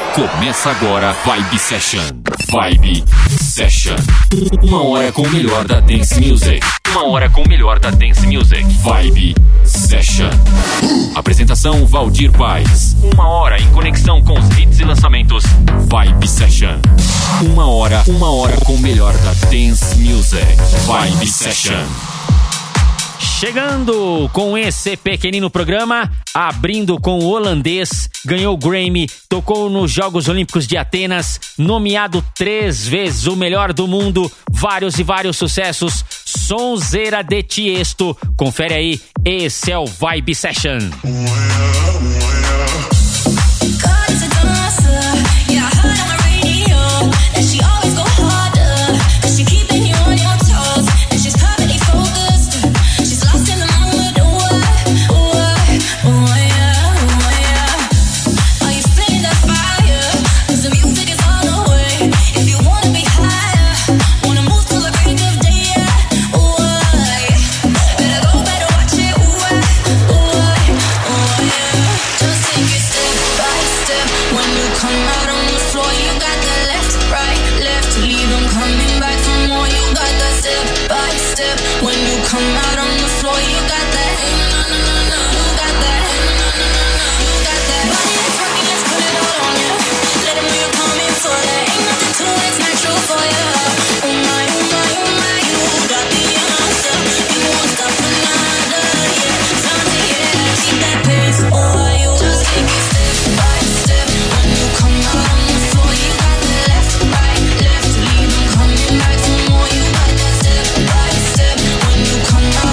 Começa agora Vibe Session. Vibe Session. 1 hora com o melhor da Dance Music. 1 hora com o melhor da Dance Music. Vibe Session. Apresentação Valdir Paz. 1 hora em conexão com os hits e lançamentos. Vibe Session. 1 hora com o melhor da Dance Music. Vibe Session. Chegando com esse pequenino programa, abrindo com o holandês, ganhou o Grammy, tocou nos Jogos Olímpicos de Atenas, nomeado 3 vezes o melhor do mundo, vários e vários sucessos, Sonzeira de Tiesto. Confere aí, esse é o Vibe Session. Come on.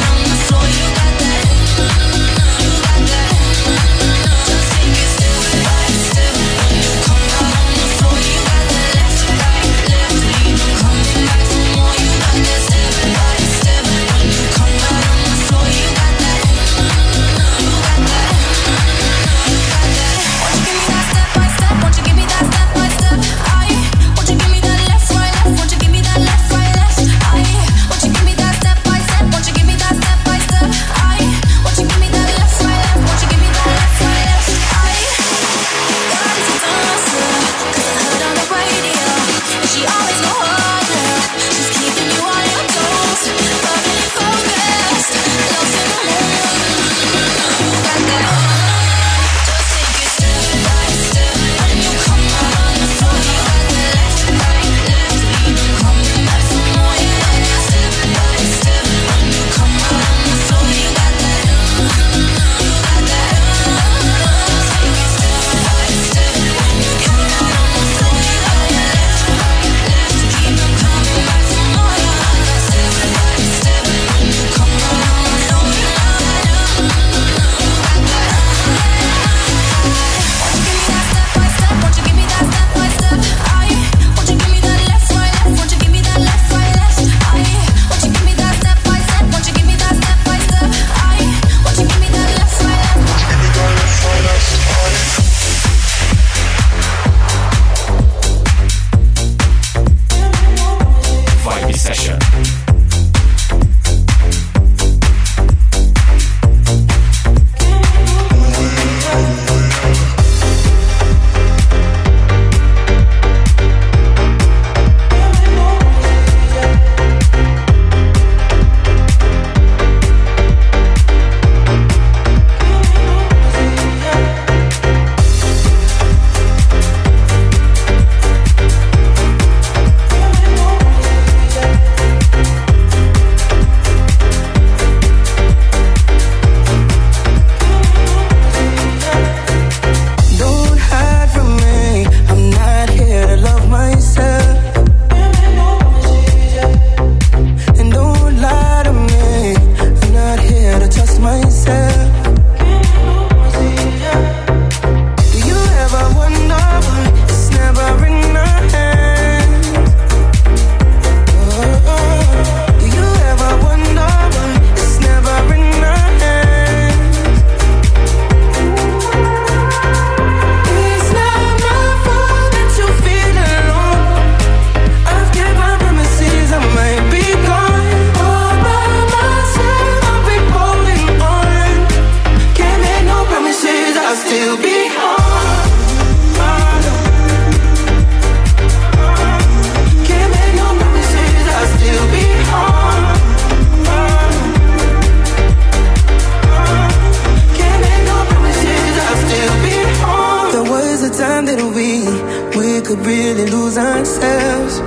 it'll be. We could really lose ourselves.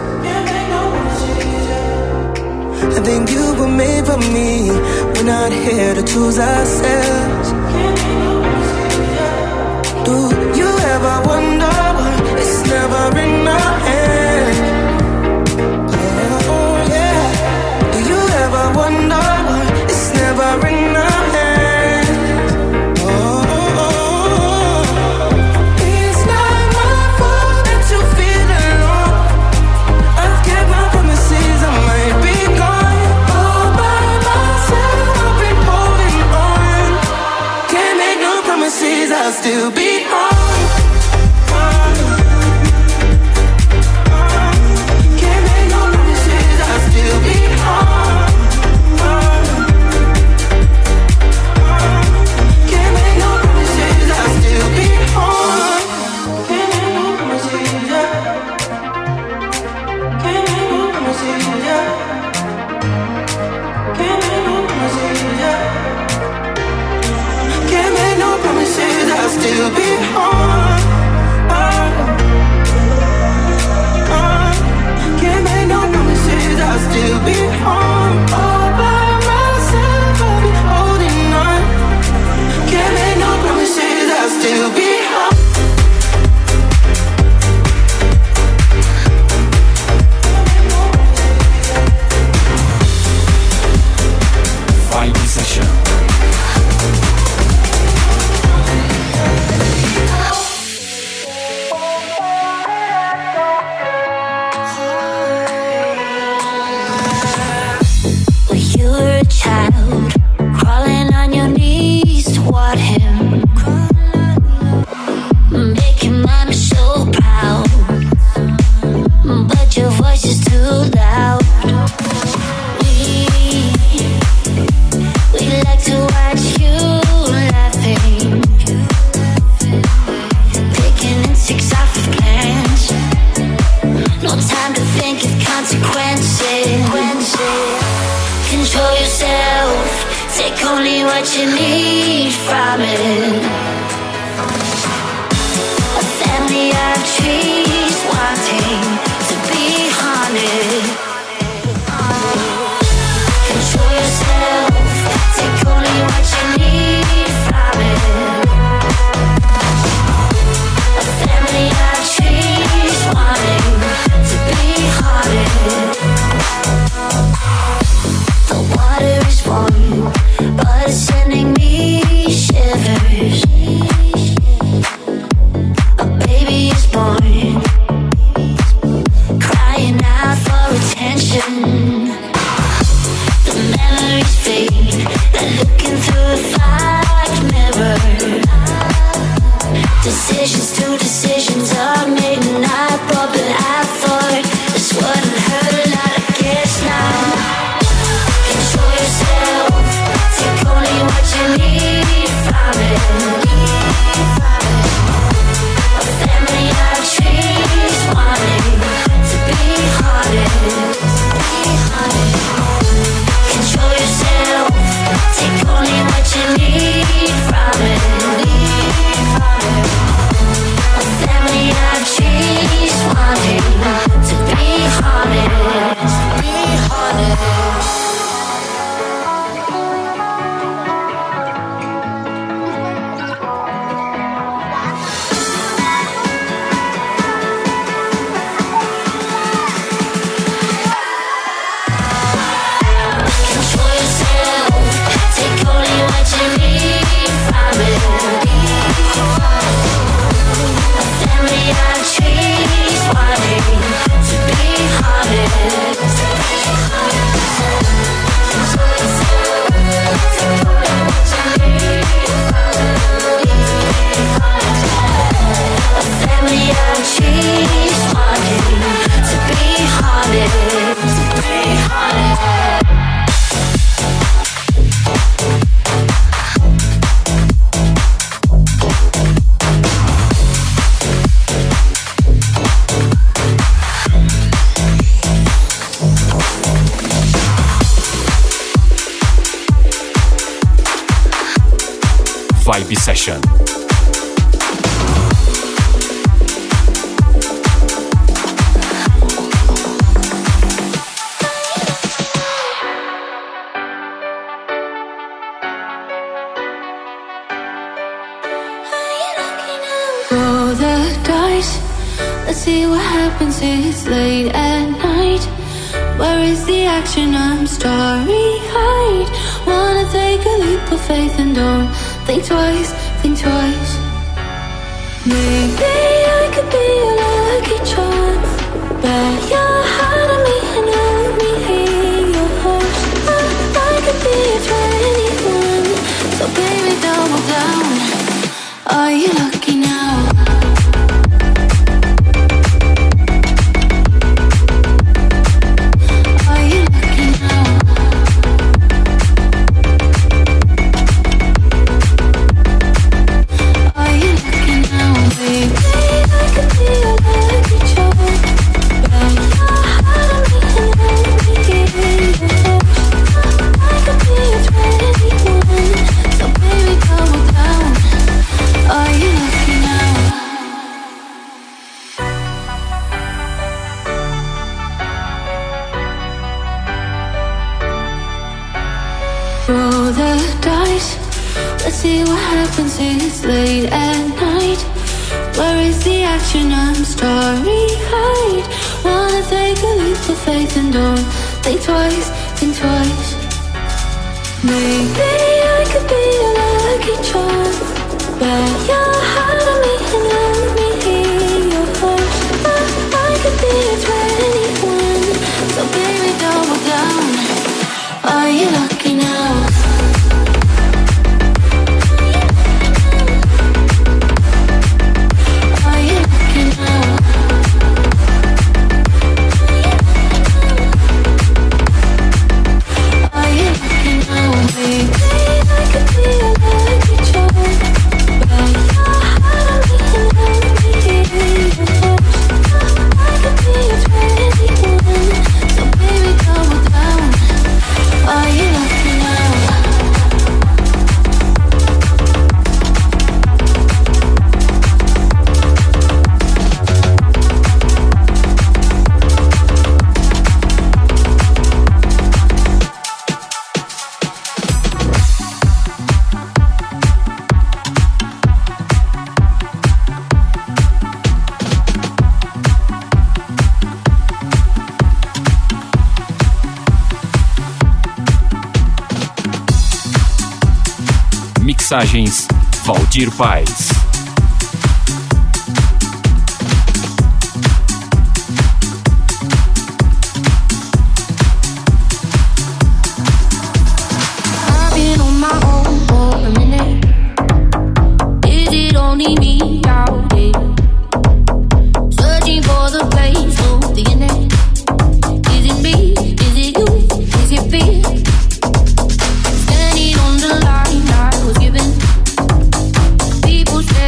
I think you were made for me. We're not here to choose ourselves. Do you ever wonder why it's never in our hands? Oh yeah. Do you ever wonder why it's never in our hands? I'll still be home. Can't make no promises, I'll still be home. Can't make no promises, I'll still be home. Can't make no promises, yeah. Can't make no promises, yeah. Can't make no promises, yeah. Can't make no promises, I'll still be home. Can't make no promises, I'll still be home. All by myself, I'll be holding on. Can't make no promises, I'll still be home. Vibe Session. Child, crawling on your knees toward him, making mommy so proud, but your voice is too loud. We like to watch you laughing, picking insects off of plants. No time to think of consequences. Control yourself, take only what you need from it. A family of trees wanting to be haunted. Control yourself, take only what you need from it. A family of trees wanting to be haunted. The water is warm, but it's sending me shivers. A baby is born, crying out for attention. The memories fade, they're looking through a fogged mirror. Decisions to decisions are made, and I thought that I thought this wouldn't hurt a lot, I guess now. Control yourself, take only what you need from it. A family of trees wanting to be haunted. Control yourself, take only what you need from it. A family of trees wanting to be haunted. Control yourself, take only what you need from it. A family of trees wanting to be haunted. A family of trees wanting to be haunted. Vibe Session. Let's see what happens, it's late at night. Where is the action? I'm starry-eyed. Wanna take a leap of faith and don't think twice, think twice. Maybe I could be a lucky charm. Bet your heart on me and let me hear your horse. I could be a 21, so baby double down. Are you lucky now? Roll the dice. Let's see what happens, it's late at night. Where is the action? I'm starry-eyed. Wanna take a leap of faith and don't think twice, think twice. Maybe I could be a lucky charm. Bet your heart on me and let me hear your horse. I could be a 21, so baby double down. Are you lucky now? Are you lucky now? Are you lucky now, baby? I could be a lucky charm. Bet your heart on me and let me hear your horse. I could be a 21, so baby double down. Are you lucky now? Mixagens Valdir Paz. I've been on my own for a minute. Is it only me out here? Searching for the place of the end. Is it me? Is it you? Is it fear? Standing on the line I was given. People say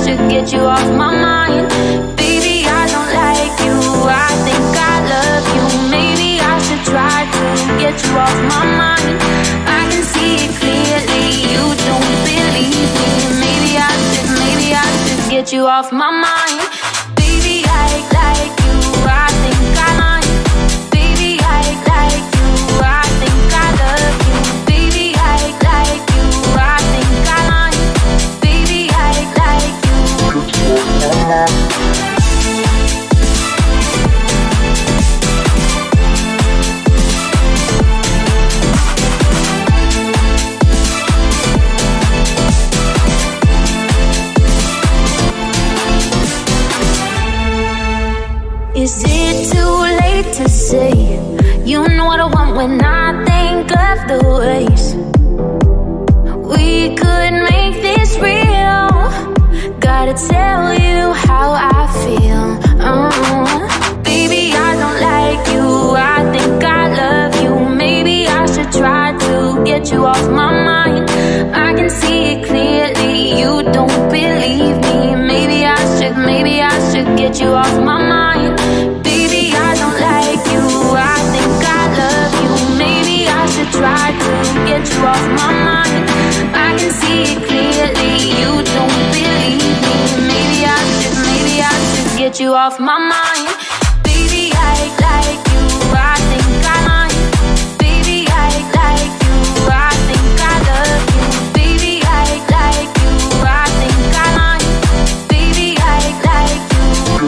should get you off my mind. Baby, I don't like you, I think I love you. Maybe I should try to get you off my mind. I can see it clearly, you don't believe me. Maybe I should get you off my mind. Baby, I like you, I think I like. Baby, I like you, I think I love you. Baby, I like you, I think I like. Baby, I like you. Is it too late to say you know what I want when I think of the ways we could make this real? Gotta tell you how I feel. Baby, I don't like you, I think I love you. Maybe I should try to get you off my mind. I can see it clearly, you don't believe me. Maybe I should get you off my mind. Baby, I don't like you, I think I love you. Maybe I should try to get you off my mind. I can see it clearly, you don't believe me. Maybe I should get you off my mind. Baby, I like you, I think I like. Baby, I like you, I think I love you. Baby, I like you, I think I like. Baby, I like you.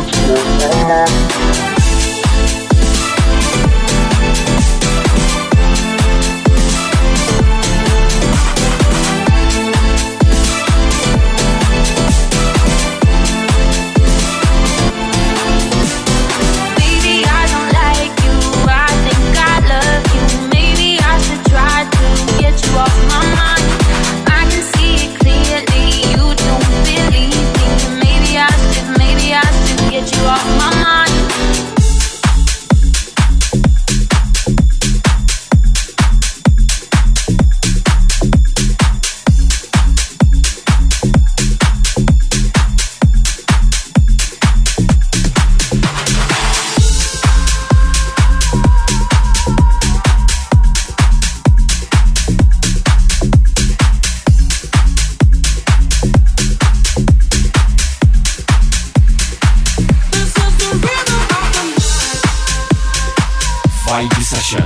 Vibe Session.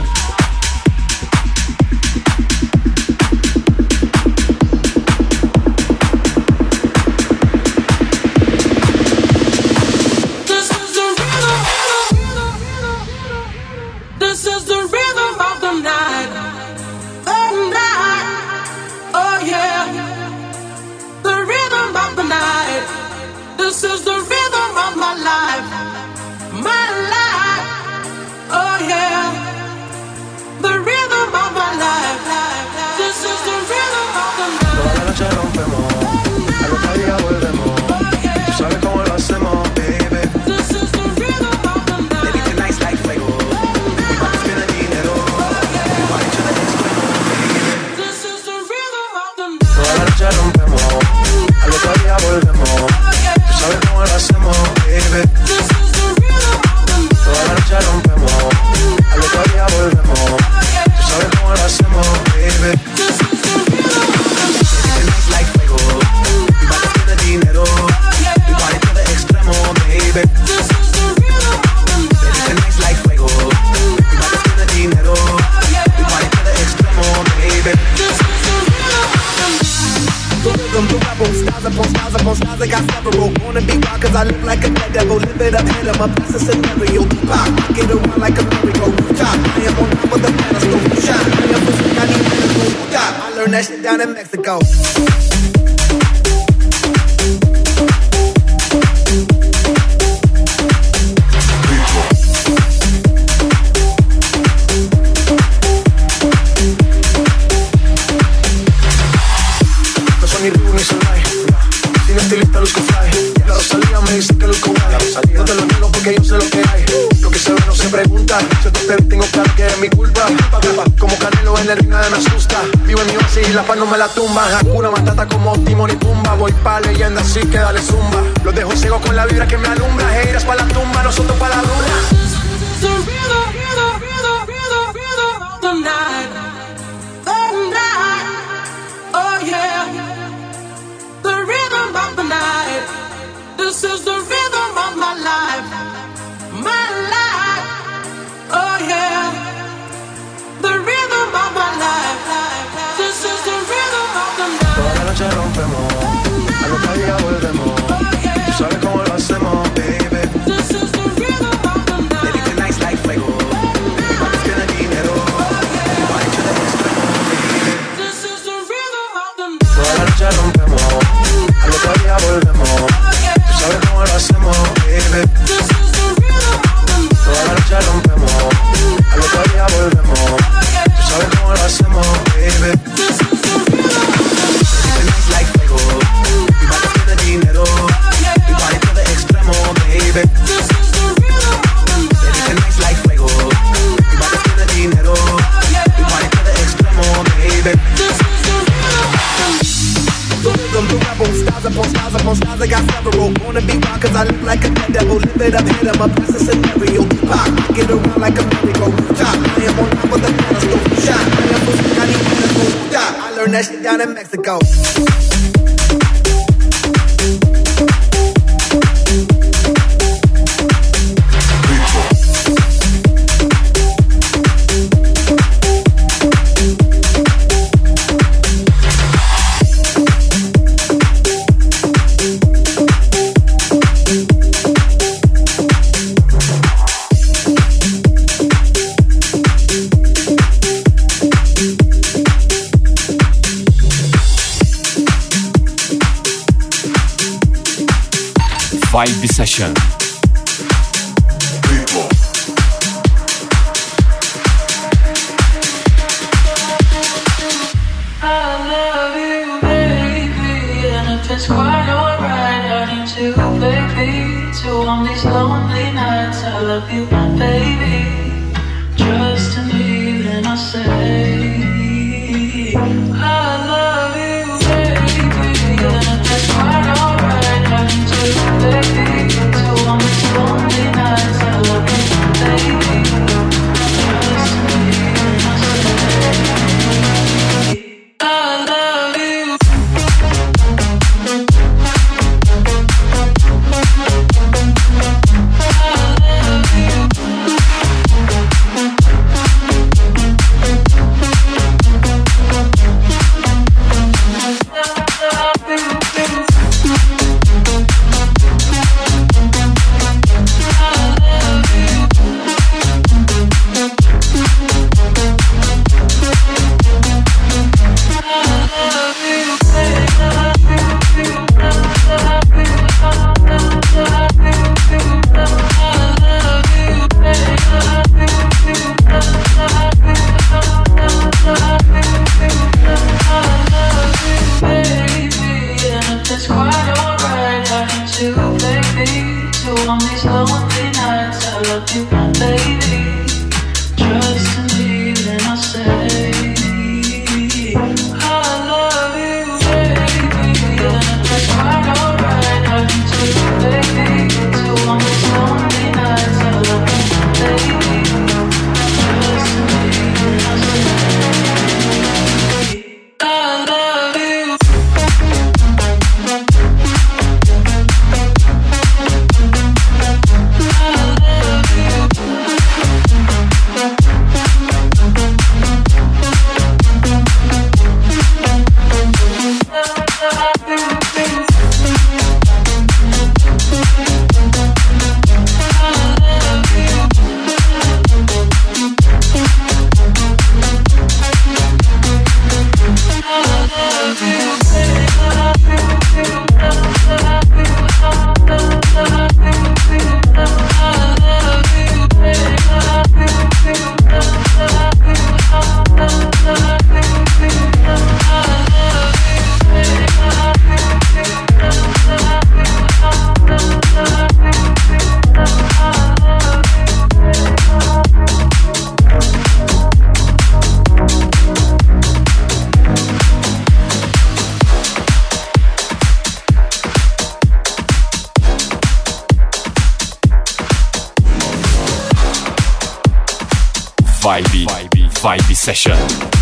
That shit down in Mexico. No son ni Ru ni Solay. Sin estilo te luzco fly. La Rosalía me dice que luzco guay. No te lo niego porque yo sé lo que hay. Lo que se ve no se pregunta. Si te espero y tengo claro que es mi culpa. Como Canelo en el ring nada me asusta. Vivo en mi oasis y la paz no me la tumba. Hakuna Matata como Timon y Pumba. Voy pa' leyenda así que dale zumba. Los dejo ciego con la vibra que me alumbra. Heiras pa' la tumba, nosotros pa' la luna. The rhythm of the night. The night. Oh yeah. The rhythm of the night. This is the rhythm of my life. My life. Oh yeah. The rhythm of my life. This is the rhythm of the night. Toda la noche rompemos. Al otro día volvemos. Tú sabes cómo lo hacemos, baby. This is the rhythm of the night. Baby, tonight's like fuego. Mi padre tiene dinero. Mi padre tiene extremo, baby. This is the rhythm of the night. Toda la noche rompemos. Al otro día volvemos. Tú sabes cómo lo hacemos, baby. This is the rhythm of the night. Toda la noche rompemos. Al otro día volvemos. Tú sabes cómo lo hacemos, baby. This is the rhythm of the night. Tonight's like fuego. Mi padre tiene dinero. Mi padre tiene extremo, baby. This is the rhythm of the night. Tonight's like fuego. Mi padre tiene dinero. Mi padre tiene extremo, baby. This is the rhythm of the night. Rhythm to rebel, styles upon styles upon styles, I got several. Wanna be wild cause I look like a dead devil. Live it up, hit 'em up, that's a scenario. Pop, get around like a merry-go. Top, I am on top of the pedestal. Shot, I am pussy, I need medical. Stop, I learned that shit down in Mexico. Vibe Session. I love you, baby, and if it's quite alright, I need to, baby, to on these lonely nights. I love you, baby, trust in me, then I say, I love you, baby, and if it's quite alright, I need to, baby, to on these lonely nights. I love you, baby, trust in me, then I say. I love you. Vibe Session.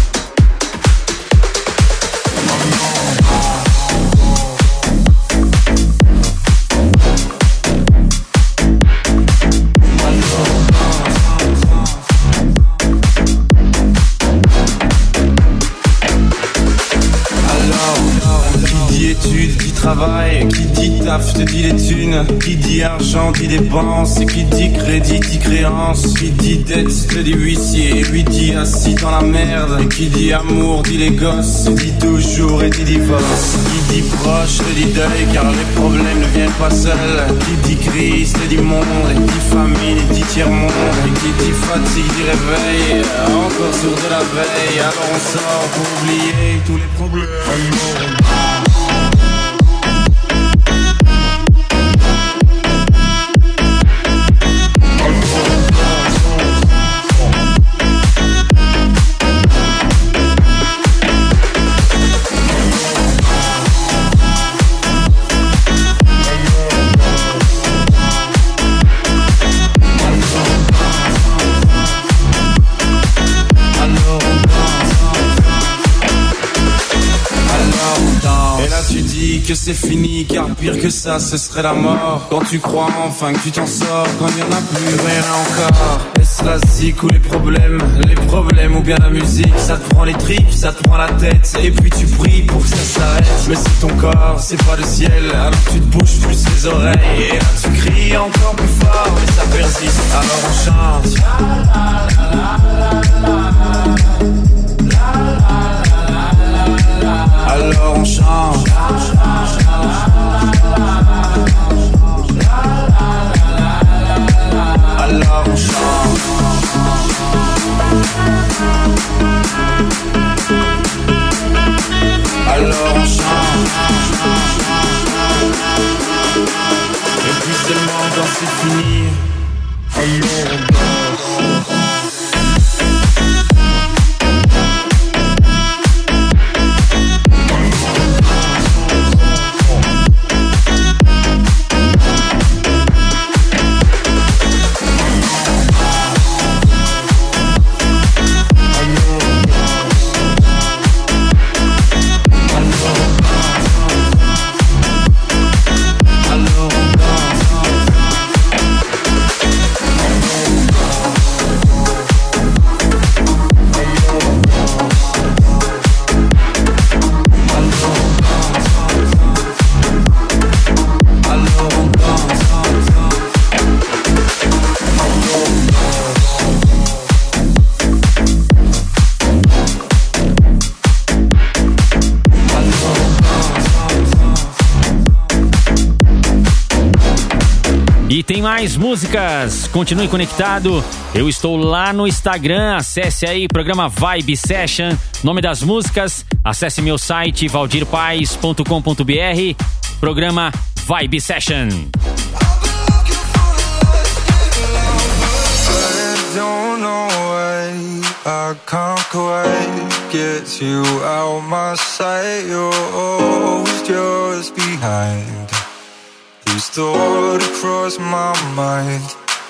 Études, qui travaille, qui dit taf, te dit les thunes, qui dit argent, dit dépenses, et qui dit crédit, dit créance, qui dit dette, te dit huissier, lui dit assis dans la merde, et qui dit amour, dit les gosses, dit toujours et dit divorce, qui dit proche, te dit deuil, car les problèmes ne viennent pas seuls, qui dit crise, te dit monde, et dit famine, dit tiers-monde, et qui dit fatigue, dit réveil, encore sourd de la veille, alors on sort pour oublier tous les problèmes. Que c'est fini, car pire que ça, ce serait la mort. Quand tu crois enfin que tu t'en sors, quand il n'y en a plus rien encore. Est-ce la zik ou les problèmes ou bien la musique? Ça te prend les tripes, ça te prend la tête, et puis tu pries pour que ça s'arrête. Mais c'est ton corps, c'est pas le ciel, alors tu te bouges plus les oreilles. Et là tu cries encore plus fort, mais ça persiste, alors on chante. Alors on chante. Alors on chante. Alors on chante. Et puis seulement quand c'est fini, alors on danse. E tem mais músicas, continue conectado. Eu estou lá no Instagram, acesse aí, programa Vibe Session, nome das músicas, acesse meu site valdirpaes.com.br, programa Vibe Session. I can't quite get you out my sight. You're always just behind. These thoughts across my mind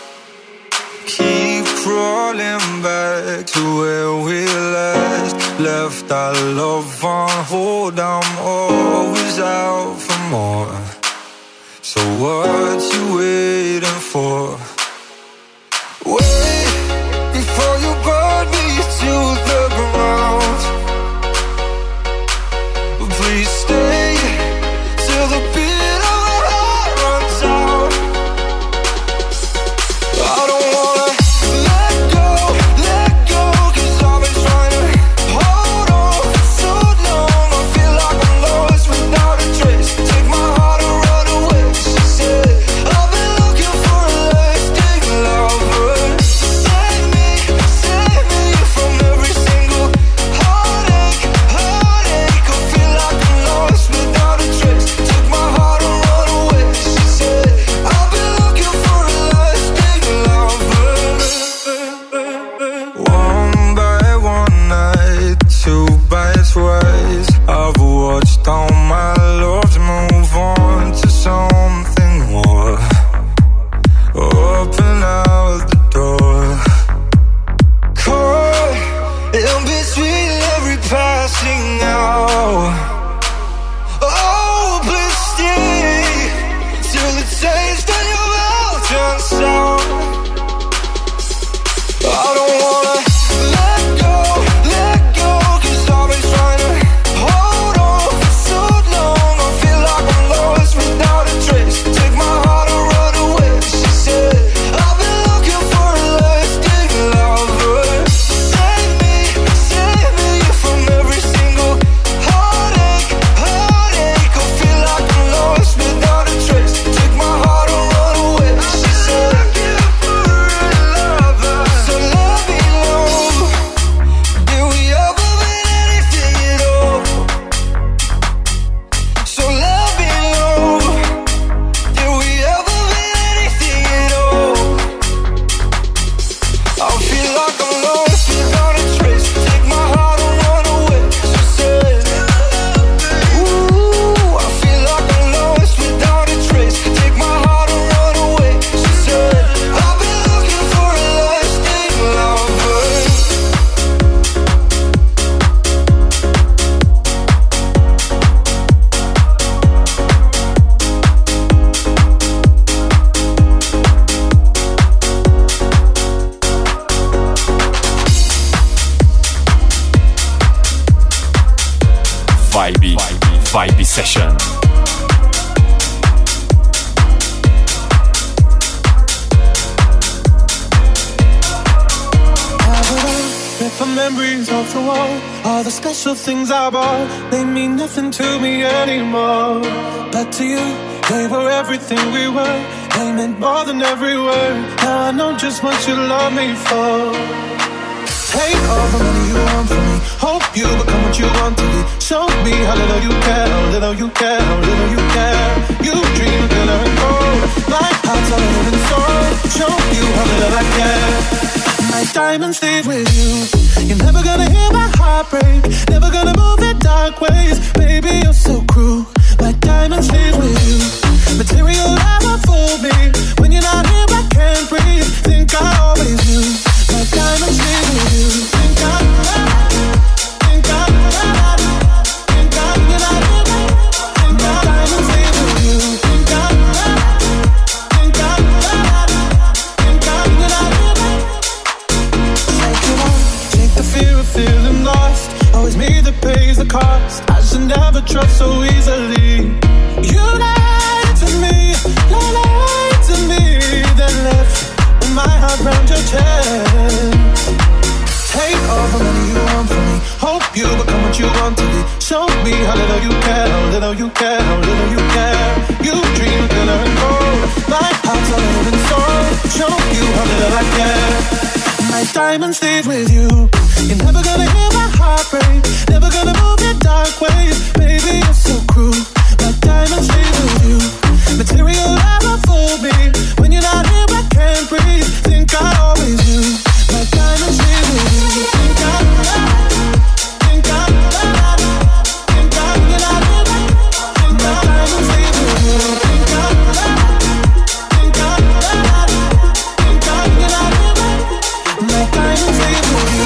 keep crawling back to where we last left our love on hold. I'm always out for more. So what you waiting for? Wait before you burn me to the ground. Please stay till the beat of my heart runs out. I don't wanna let go, 'cause I've been trying to hold on for so long. I feel like I'm lost without a trace. Take my heart and run away. She said, I've been taste of your mountain sound. I don't wanna let go, 'cause I've been trying to hold on for so long. I feel like I'm lost without a trace. Take my heart and run away, she said. I've been looking for a lasting lover. Save me from every single heartache. I feel like I'm lost without a trace. Take my heart and run away, she said. So let me know, did we ever mean anything at all? So let me know, did we ever mean anything at all? I feel like I'm lost without a trace. Take my heart and run away, she said. Ooh, I feel like I'm lost without a trace. Take my heart and run away, she said. I've been looking for a lasting lover. Vibe Session. Rip the memories off the wall. All the special things I bought, they mean nothing to me anymore. But to you, they were everything we were. They meant more than every word. Now I know just what you love me for. Take all the money you want from me. Hope you become what you want to be. Show me how little you care, how little you care, how little you care. You dream of glitter and gold. My heart's a living soul. Show you how little I care. My diamonds leave with you. You're never gonna hear my heart break. Never gonna move in dark ways. Baby, you're so cruel. My diamonds leave with you. Material never fooled me. When you're not here, I can't breathe. Think I always knew. My diamonds leave with you. Think I you're not here. Think my diamonds leave with you. Think I you're not here. Take it on, take the fear of feeling lost. Always me that pays the cost. I should never trust so easily. You lied to me, then left with my heart round your chest. Take all the money you want from me. Hope you become what you want to be. Show me how little you care, how little you care, how little you care. You dream of glitter and gold. My heart's a living soul. Show you how little I care. My diamonds leave with you. You're never gonna hear my heart break. Never gonna move in dark ways. Baby, you're so cruel. My diamonds leave with you. Material never fooled me. When you're not here, I can't breathe. Think I always knew. My diamonds leave with you. Think I you're not here. My diamonds leave with you. Think I you're not here. My diamonds leave with you.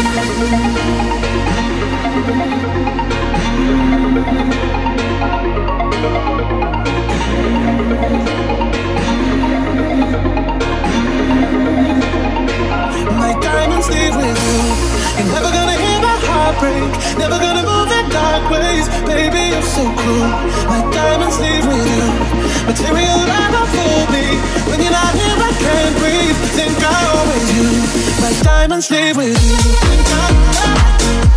My diamonds leave with you. You're never gonna hear my heart break. Never gonna move in dark ways. Baby, you're so cruel. My diamonds leave with you. Material never fooled me. When you're not here, I can't breathe. Think I always knew. My diamonds leave with you. Think I you're not here.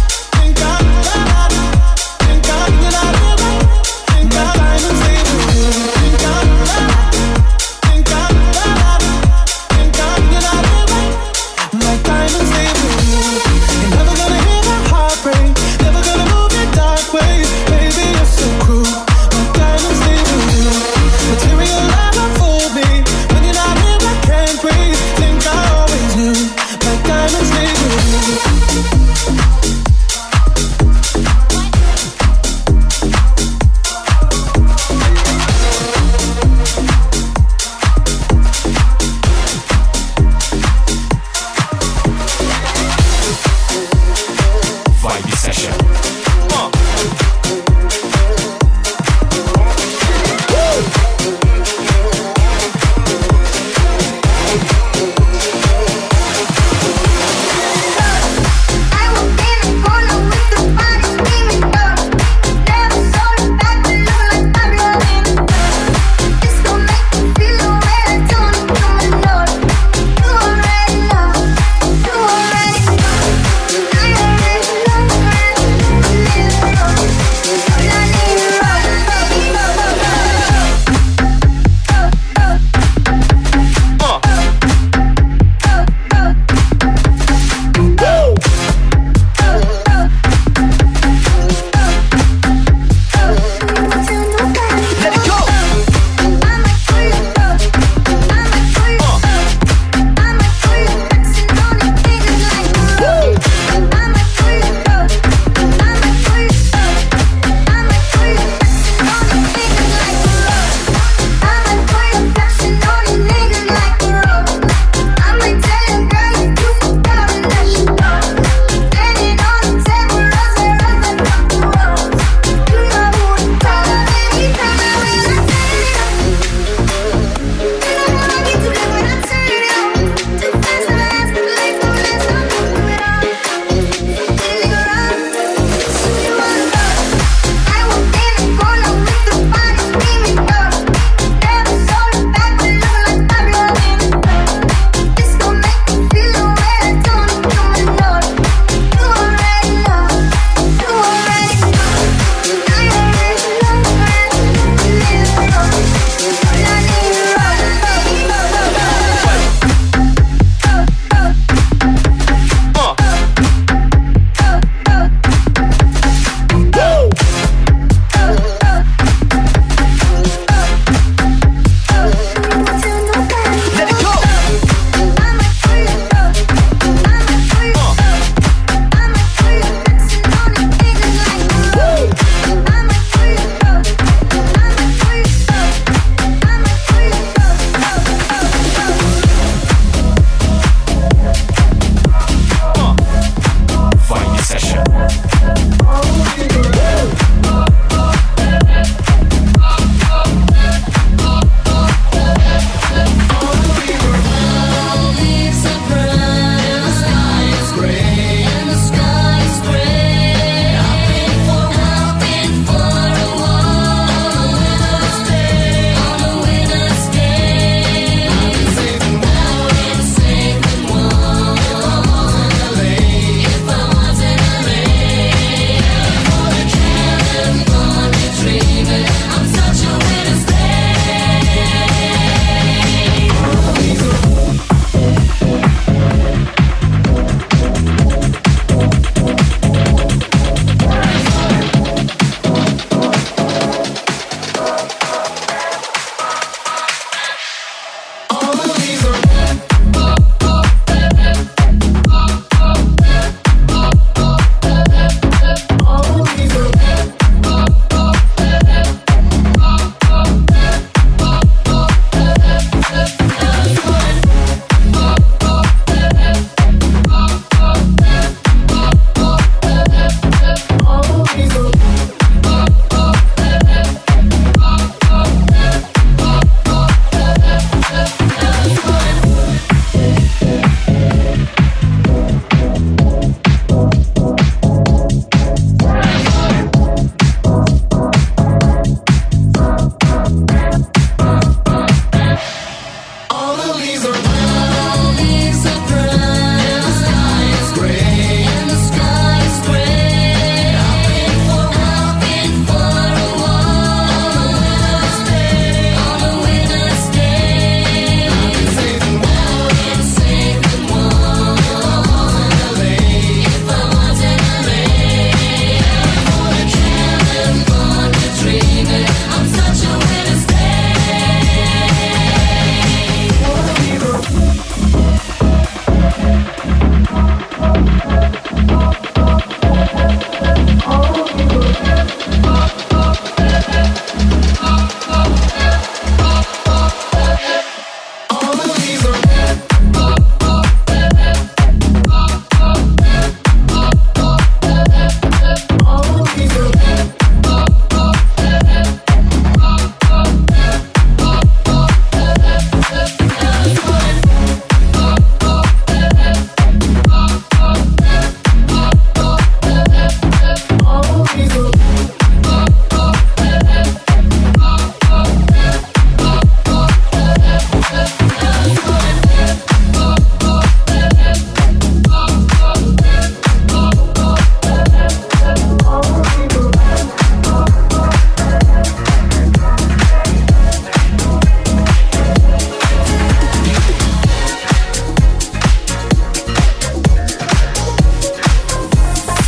My diamonds leave with you. Think I you're not here. My diamonds leave with you. You're never gonna hear my heart break. Never gonna move in dark ways. Baby, you're so cruel. My diamonds leave with you. Material never fooled me. When you're not here, I can't breathe. Think I always knew. My diamonds leave with you.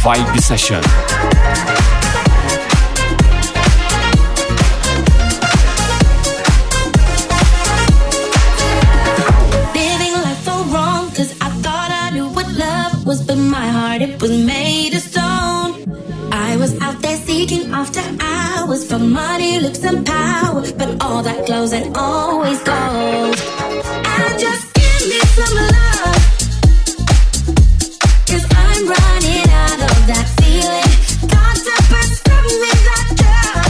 Vibe Session. But my heart, it was made of stone. I was out there seeking after hours for money, looks and power, but all that glows and always goes. And just give me some love, 'cause I'm running out of that feeling. Got to prescribe me that drug,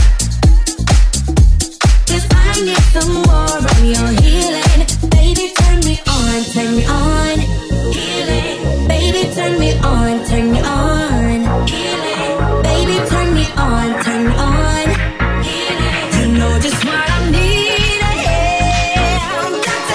'cause I need some more of your healing. Baby, turn me on, turn me on. Healing. Baby, turn me on, turn me on. Healing. Baby, turn me on, turn me on. Healing. You know just what I need. Yeah, I've got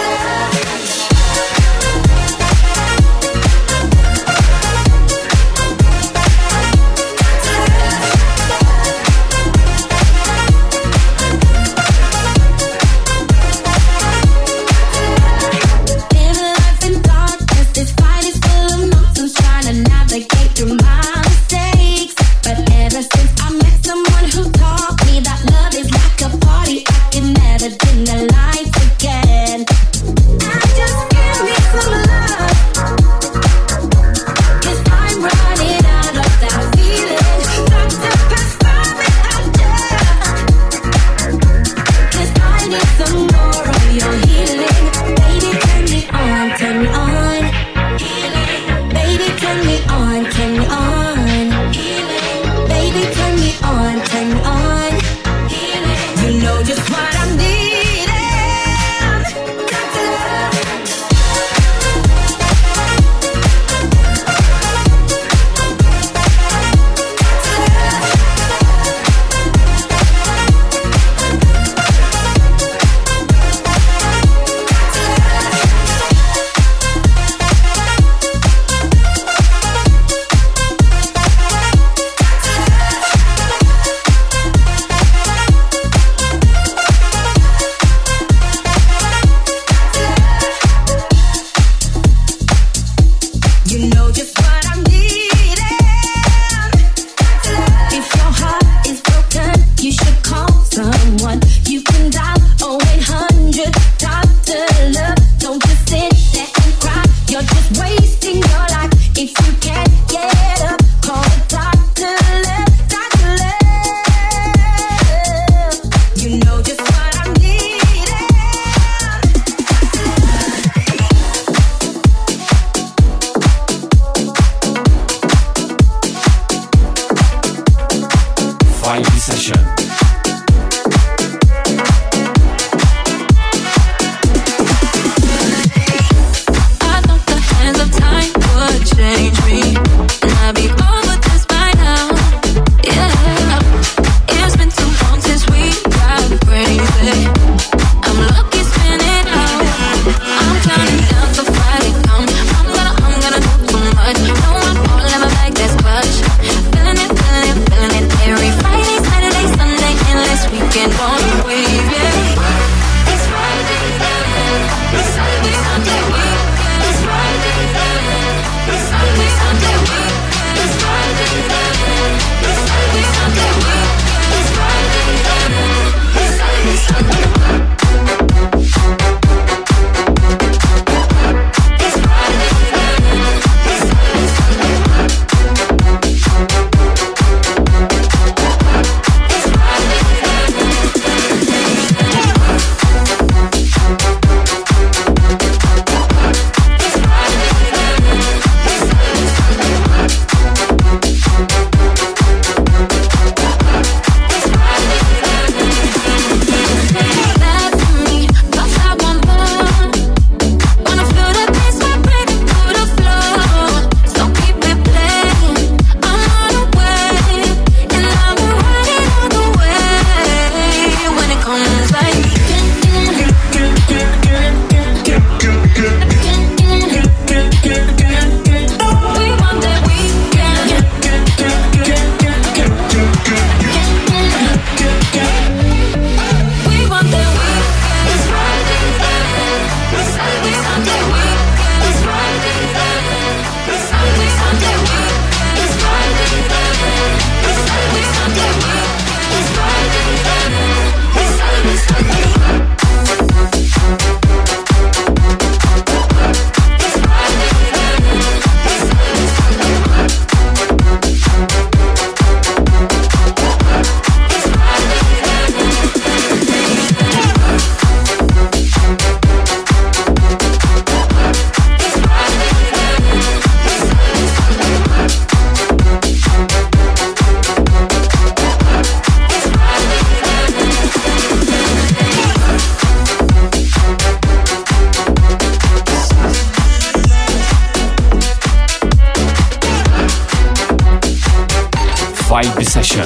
Vibe Session.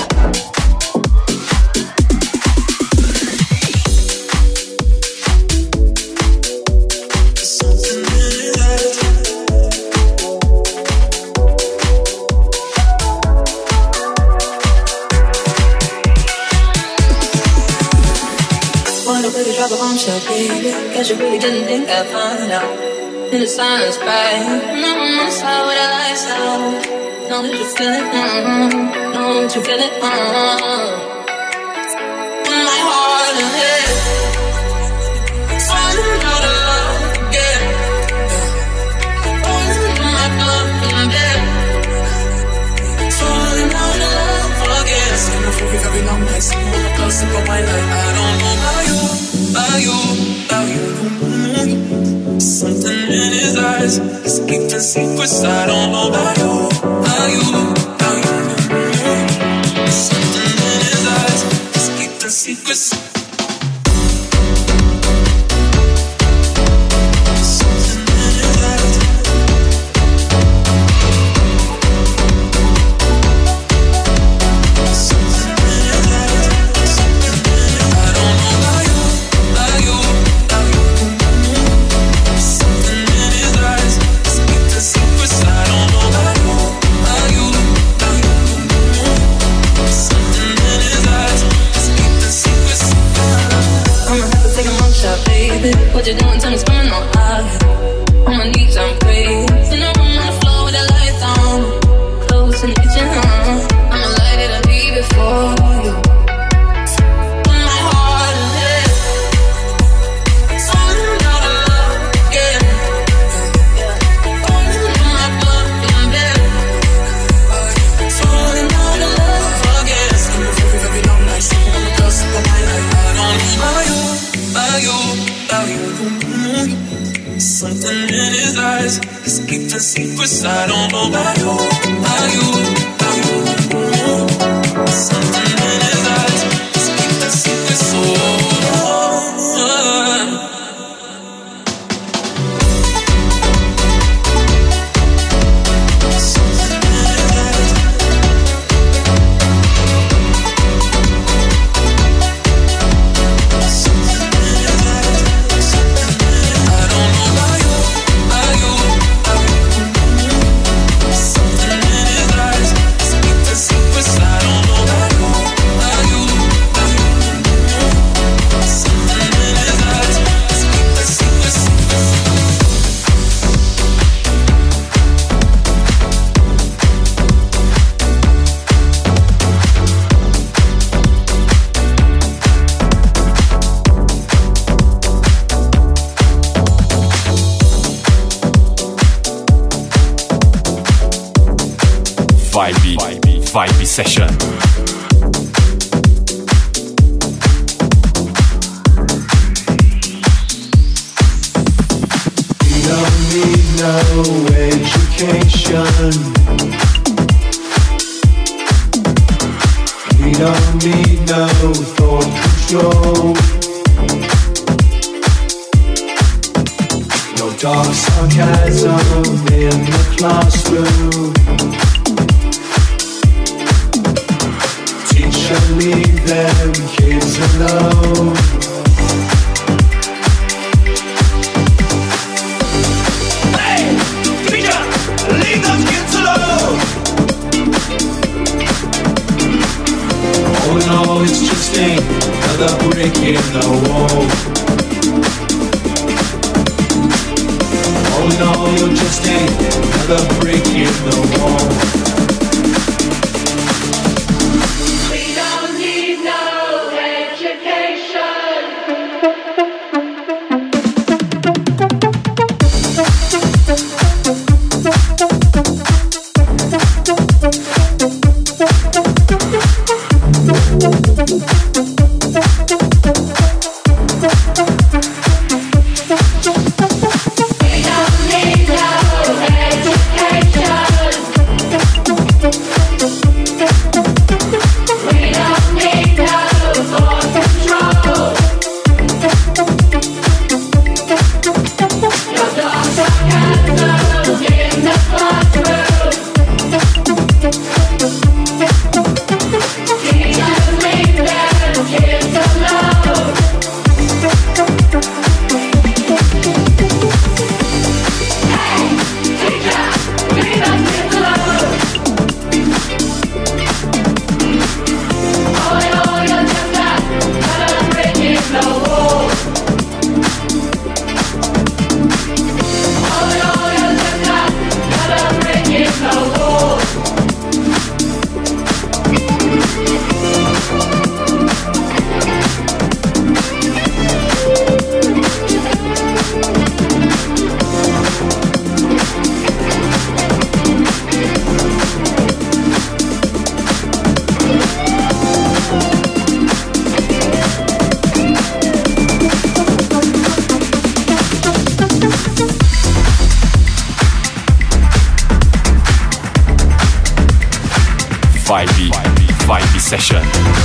Drop a bombshell, baby. Guess you really didn't think I'd find out. In the silence, right? That's how would I lie so? Know that you feel it, know that you feel it, my heart and head falling out of love again. Falling in my blood and bed. Falling out of love again. Sitting before we very long nights, sitting close to my life. I don't know about you. Something in his eyes is keeping secrets. I don't know about you. Something in his eyes is keeping secrets. What you doing? Tell me, coming on high. On my knees, I'm praying. In the room on the floor with the lights on. Close in the kitchen, I'ma light it up before you. My heart and head falling out of love again. Falling in my blood and bed. Falling out of love again. Sitting before we very long nights, sitting on the cusp of my life. I don't know about you. Something in his eyes is keeping secrets. I don't know about you. Something in his eyes is keeping secrets. Vibe Session. We don't need no education. We don't need no thought control. No dark sarcasm in the classroom. Leave them kids alone. Hey, teacher, leave those kids alone. All in all, it's just another brick in the wall. All in all, you're just another brick in the wall. Vibe Session.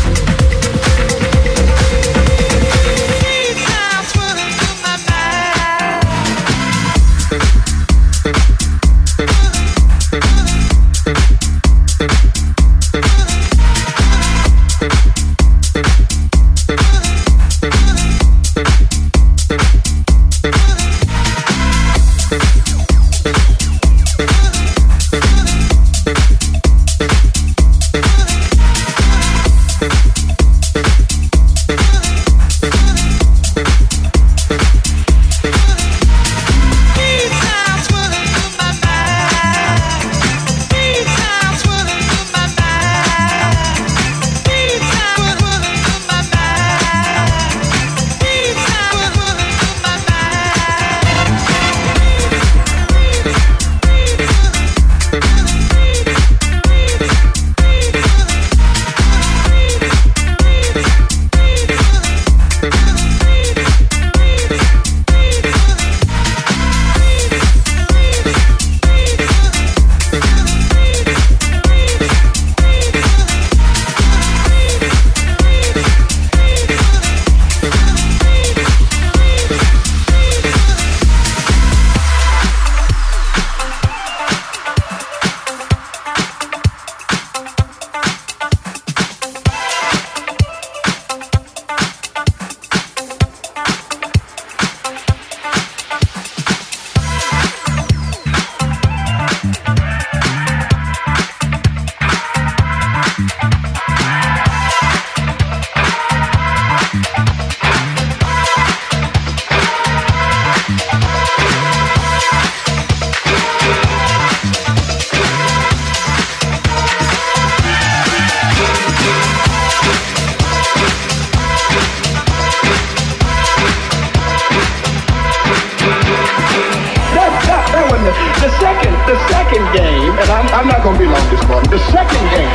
The second game, and I'm not going to be long this morning. The second game,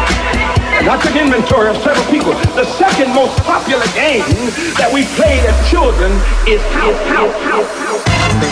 and I took inventory of several people. The second most popular game that we played as children is house.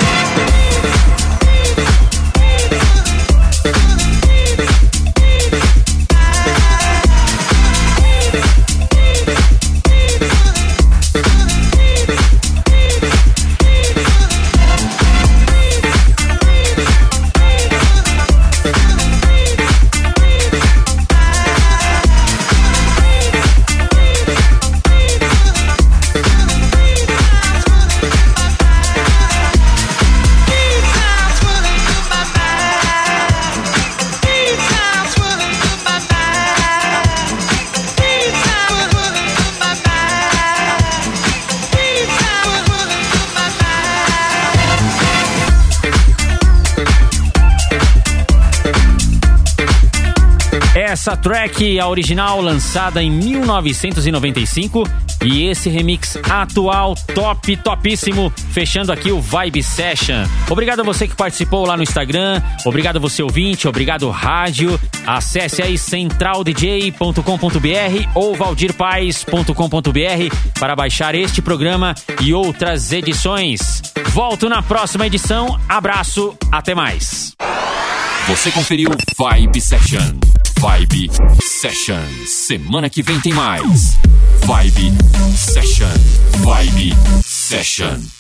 Essa track, a original, lançada em 1995, e esse remix atual, topíssimo, fechando aqui o Vibe Session. Obrigado a você que participou lá no Instagram, obrigado a você ouvinte, obrigado rádio. Acesse aí centraldj.com.br ou valdirpaes.com.br para baixar este programa e outras edições. Volto na próxima edição, abraço, até mais. Você conferiu Vibe Session. Vibe Session. Semana que vem tem mais. Vibe Session. Vibe Session.